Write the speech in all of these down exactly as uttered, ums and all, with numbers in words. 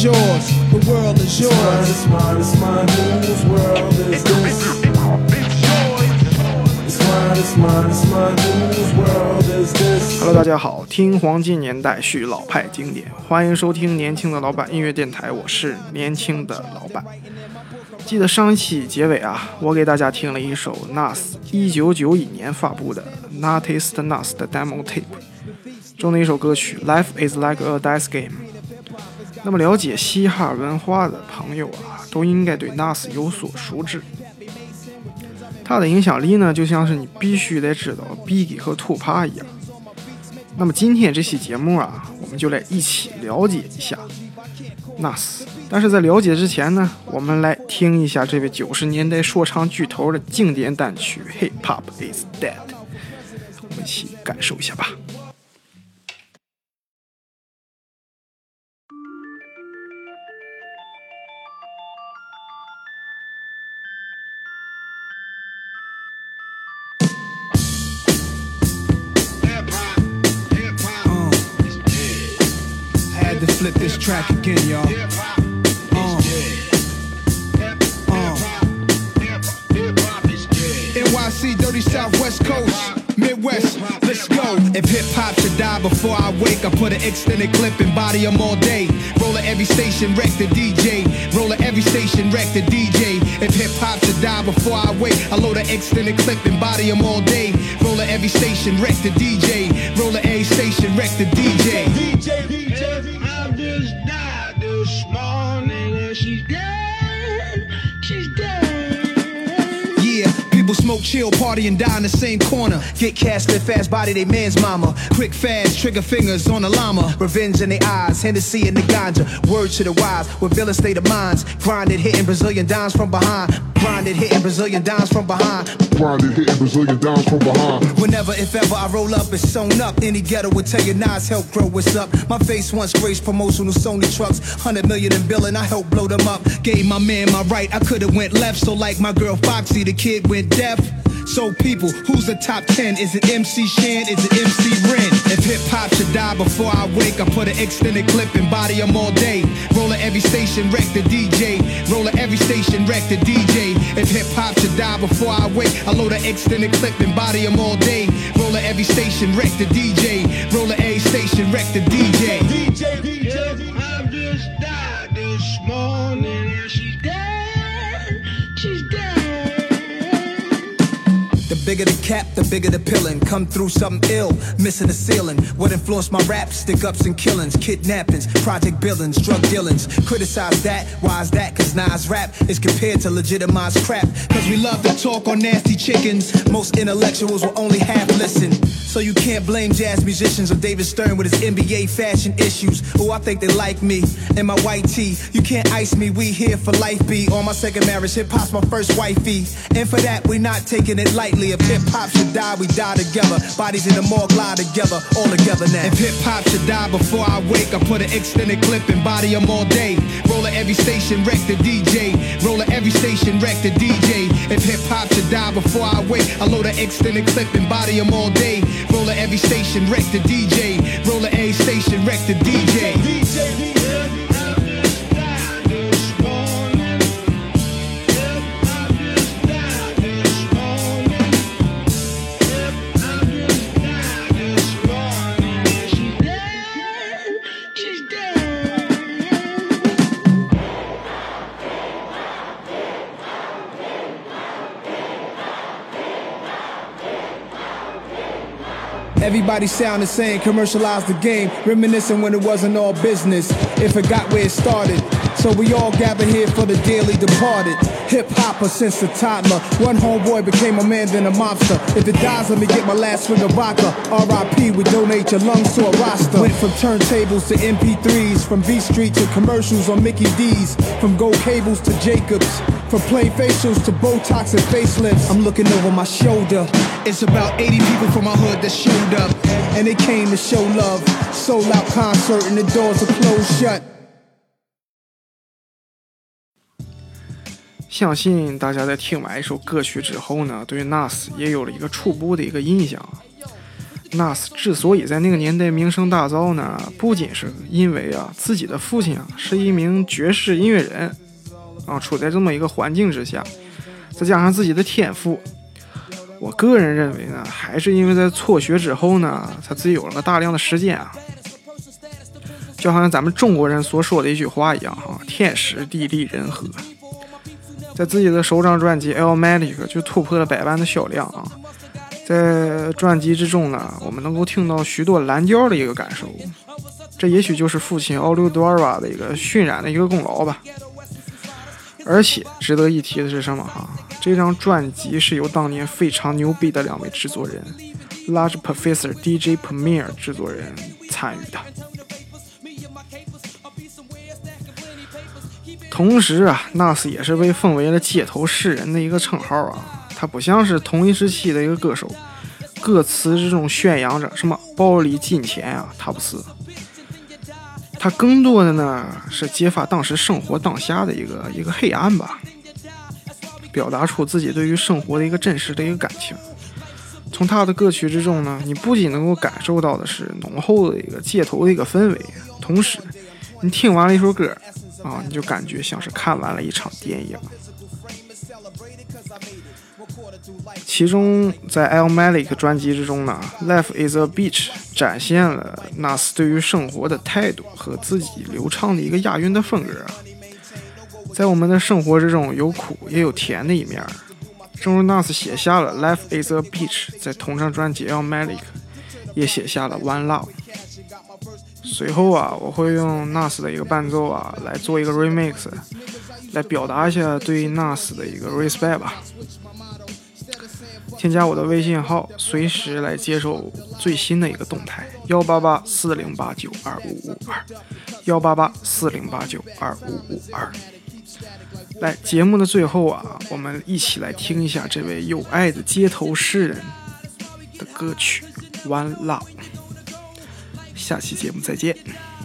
yours, the world is yours. It's mine, it's mine, whose world is this? It's mine, it's mine, it's mine, whose world is this? Hello， 大家好，听黄金年代续老派经典，欢迎收听年轻的老板音乐电台，我是年轻的老板。记得上一期结尾啊，我给大家听了一首 N A S 一九九一年发布的 Noticed N A S 的 Demo Tape 中的一首歌曲 Life is like a dice game。那么了解嘻哈文化的朋友啊，都应该对 N A S 有所熟知。它的影响力呢，就像是你必须得知道 Biggie 和 Tupac 一样。那么今天这期节目啊，我们就来一起了解一下 N A S。但是在了解之前呢，我们来听一下这位九十年代说唱巨头的经典单曲 Hip Hop is Dead， 我们一起感受一下吧。 Flip this track again, y'all. Uh, uh. N Y C, dirty Southwest Coast, Midwest, let's go. If hip-hop should die before I wake, I put an extended clip and body them all day. Roll at every station, wreck the D J. Roll at every station, wreck the D J. If hip-hop should die before I wake, I load an extended clip and body them all day. Roll at every station, wreck the D J. Roll at every station, wreck the D J. D J, D J. Just died this morning and she's dead, she's dead. Yeah, people smoke, chill, party and die in the same corner. Get cast in fast body, they man's mama. Quick, fast, trigger fingers on the llama. Revenge in their eyes, Hennessy in the ganja. Word to the wise, with villain state of minds. Grinded, hitting Brazilian dimes from behind. Grinded, hitting Brazilian dimes from behind. Grinded, hitting Brazilian dimes from behind. Whenever, if ever I roll up, it's sewn up. Any ghetto would tell you Nas help grow what's up. My face once graced promotional Sony trucks. Hundred million in billing, I helped blow them up. Gave my man my right, I could've went left. So like my girl Foxy, the kid went deaf. So people, who's the top ten? Is it M C Shan? Is it M C Ren? If hip-hop should die before I wake, I put an extended clip and body them all day. Roll at every station, wreck the D J. Roll at every station, wreck the D J. If hip-hop should die before I wake, I load an extended clip and body them all day. Roll at every station, wreck the D J. Roll at every station, wreck the D J. D J, D J. I've just died this morning and she's dead, she's dead. The bigger the cap, the bigger the pillin'. Come through something ill, missing the ceiling. What influenced my rap? Stick-ups and killings, kidnappings, project billings, drug dealings. Criticize that, why is that? Cause Nas rap is compared to legitimized crap. Cause we love to talk on nasty chickens. Most intellectuals will only half listen. So you can't blame jazz musicians or David Stern with his N B A fashion issues. Oh, I think they like me and my white tee. You can't ice me, we here for life be. On my second marriage, hip-hop's my first wifey. And for that, we not taking it lightly. If hip-hop should die, we die together. Bodies in the morgue lie together, all together now. If hip-hop should die before I wake, I put an extended clip and body them all day. Roll at every station, wreck the D J. Roll at every station, wreck the D J. If hip-hop should die before I wake, I load an extended clip and body them all day. Roll at every station, wreck the D J. Roll at every station, wreck the D J. D J, D J. I've just died this morning. I've just died this morning. I've just died this morning and she's dead, she's dead. Everybody sound the same, commercialize the game, reminiscing when it wasn't all business. If it got where it started, so we all gather here for the dearly departed. Hip-hopper since a toddler. One homeboy became a man, then a mobster. If it dies, let me get my last swig of vodka. R I P, we donate your lungs to a roster. Went from turntables to M P threes, from V Street to commercials on Mickey D's, from gold cables to Jacobs, from plain facials to Botox and facelifts. I'm looking over my shoulder. It's about eighty people from my hood that showed up, and they came to show love. Sold out concert and the doors are closed shut. 相信大家在听完一首歌曲之后呢，对 N A S 也有了一个初步的一个印象。 Nas 之所以在那个年代名声大噪呢，不仅是因为啊自己的父亲啊是一名爵士音乐人啊，处在这么一个环境之下，再加上自己的天赋，我个人认为呢，还是因为在辍学之后呢，他自己有了个大量的时间啊，就好像咱们中国人所说的一句话一样哈，天时地利人和。在自己的首张专辑《Illmatic》就突破了百万的销量啊。在专辑之中呢，我们能够听到许多蓝调的一个感受，这也许就是父亲奥利多尔瓦的一个渲染的一个功劳吧。而且值得一提的是什么哈？这张专辑是由当年非常牛逼的两位制作人 Large Professor D J Premier 制作人参与的。同时啊 Nas 也是被封为了街头诗人的一个称号啊。他不像是同一时期的一个歌手，歌词这种宣扬着什么暴力金钱啊，他不是。他更多的呢是揭发当时生活当下的一个一个黑暗吧，表达出自己对于生活的一个真实的一个感情。从他的歌曲之中呢，你不仅能够感受到的是浓厚的一个街头的一个氛围，同时你听完了一首歌啊，你就感觉像是看完了一场电影。其中在 Illmatic 专辑之中呢 Life is a Beach 展现了 Nas 对于生活的态度和自己流畅的一个押韵的风格啊。在我们的生活之中有苦也有甜的一面，正如 Nas 写下了 Life is a Beach， 在同张专辑 Illmatic 也写下了 One Love。 随后啊，我会用 Nas 的一个伴奏啊来做一个 remix， 来表达一下对 Nas 的一个 respect 吧。添加我的微信号，随时来接受最新的一个动态，幺八八四零八九二五五二，幺八八四零八九二五五二。来，节目的最后啊，我们一起来听一下这位有爱的街头诗人的歌曲《One Love》。下期节目再见。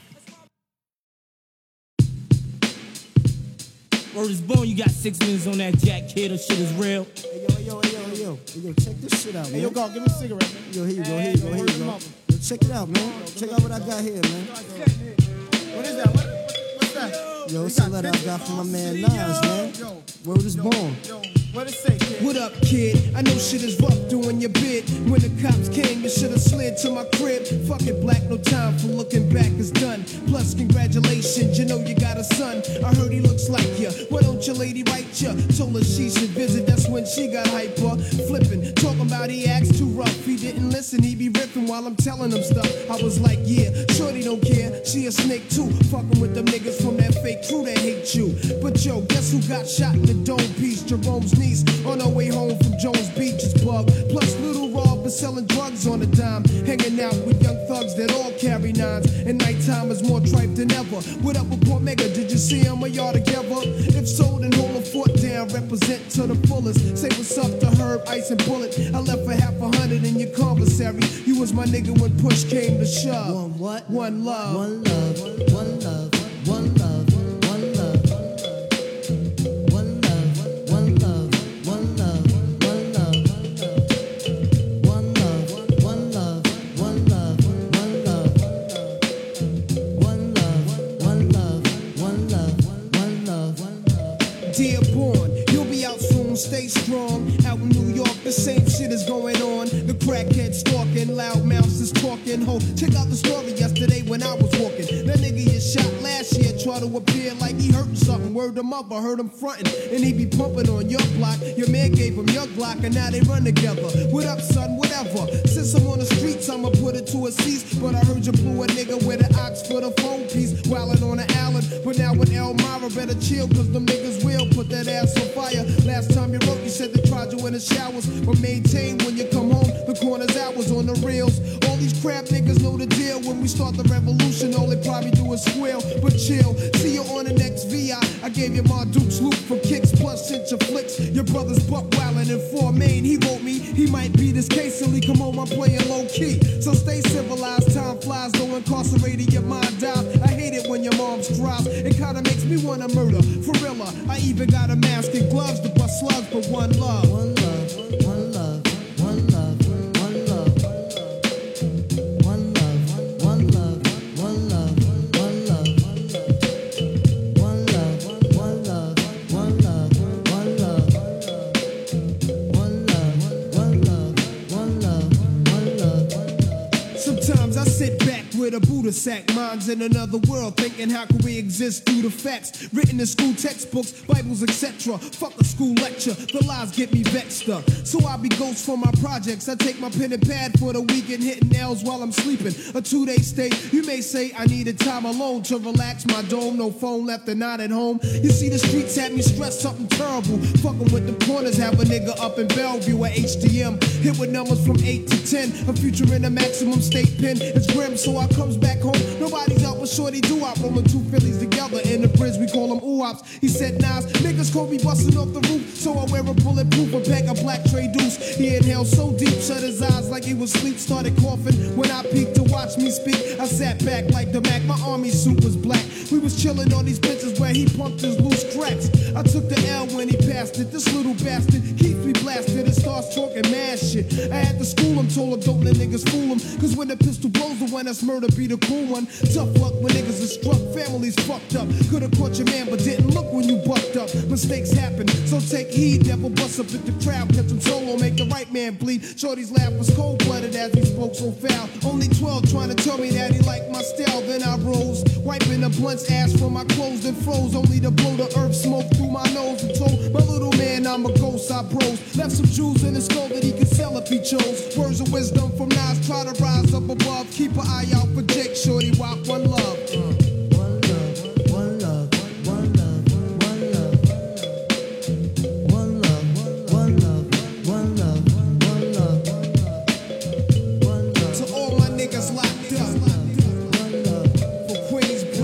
Word is born, you got six minutes on that jack, kid, or shit is real. Hey, yo, yo, yo, yo, hey, yo, check this shit out, man. Hey, yo, go, give me a cigarette, man. Yo, here you go, here you go, here you go. Yo, check it out, man. Check out what I got here, man. What is that? What, what's that? Yo, it's a letter I got from my man Nas, man. Word is born. What it say, kid? What up, kid? I know shit is rough doing your bid. When the cops came, you should have slid to my crib. Fuck it, black, no time for looking back is done. Plus, congratulations, you know you got a son. I heard he looks like you. Why don't your lady write you? Told her she should visit, that's when she got hyper. Flipping, talking about he acts too rough. He didn't listen, he be ripping while I'm telling him stuff. I was like, yeah, shorty don't care. She a snake too. Fucking with them niggas from that fake crew that hate you. But yo, guess who got shot in the dome piece? Jerome's niece on her way home from Jones Beach is Bug. Plus Little Rob is selling drugs on a dime, hanging out with young thugs that all carry nines. And nighttime is more tripe than ever. What up with Port Mega? Did you see him or y'all together? If so, then hold a fort down, represent to the fullest. Say what's up to Herb, Ice and Bullet. I left for half a hundred in your commissary. You was my nigga when push came to shove. One what? One love. One love, one love, one love. Stay strong, out in New York, the same shit is going on. The crackhead stalking, loud mouths is talking. Ho, check out the story yesterday when I was walking. That nigga you shot last year, try to appear like he hurting something. Word him up, I heard him fronting, and he be pumping on your block. Your man gave him your Glock, and now they run together. What up, son? Whatever. Since I'm on the streets, I'ma put it to a cease. But I heard you blew a nigga with an ox for the phone piece, wildin' on the island. But now with Elmira, better chill, cause them niggas will put that ass on fire. Last time you wrote, you said they tried you in the showers, but maintain when you come home, the corner's hours on the reels. All these crap niggas know the deal. When we start the revolution, all they probably do is squeal. But chill, see you on the next V I. I gave you my Duke's loop for kicks, plus sent your flicks. Your brother's buck wildin' in four Main. He wrote me, he might be this case till he come home, I'm playing low key. So stay civilized, time flies, though incarcerated, your mind dies. I hate it when your mom's cries, it kinda makes me wanna murder. For real, I even got a mask and gloves to bust slugs, but one love. One love, one love, one love, one love, one love. with a Buddha sack. Minds in another world, thinking how can we exist through the facts. Written in school textbooks, Bibles, et cetera. Fuck a school lecture, the lies get me vexed up. So I be ghost for my projects. I take my pen and pad for the weekend, hitting nails while I'm sleeping. A two-day stay, you may say I needed time alone to relax my dome. No phone left and not at home. You see the streets had me stressed, something terrible. Fucking with the corners, have a nigga up in Bellevue at H D M. Hit with numbers from eight to ten. A future in a maximum state pen. It's grim, so I comes back home. Nobody's out with shorty do I rolling two Phillies together in the bridge. We call them oops. He said, Nas, niggas call me busting off the roof. So I wear a bulletproof, a pack of black tray deuce. He inhaled so deep, shut his eyes like he was asleep. Started coughing when I peeked to watch me speak. I sat back like the Mac, my army suit was black. We was chilling on these benches where he pumped his loose cracks. I took the L when he passed it. This little bastard keeps me blasted and starts talking mad shit. I had to school him, told him don't let niggas fool him. Cause when the pistol blows, the one that's murder be the cool one. Tough luck when niggas are struck, families fucked up. Could've caught your man, but didn't look when you bucked up. Mistakes happen, so take heed. Never bust up at the crowd, catch him solo, make the right man bleed. Shorty's laugh was cold-blooded as he spoke so foul. Only twelve trying to tell me that he liked my style. Then I rose, wiping the blunt's ash from my clothes and froze. Only to blow the earth smoke through my nose and told my little man I'm a ghost. I bros left some jewels in his skull that he could sell if he chose. Words of wisdom from Nas, try to rise up above. Keep an eye out for Jake, shorty, walk one love. Uh.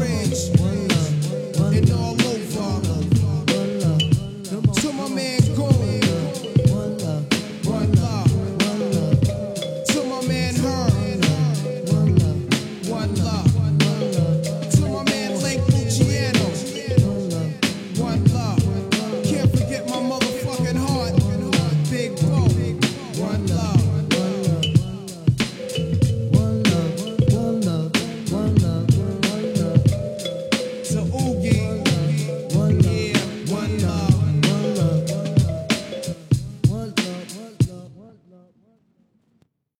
And all over. To my man, go.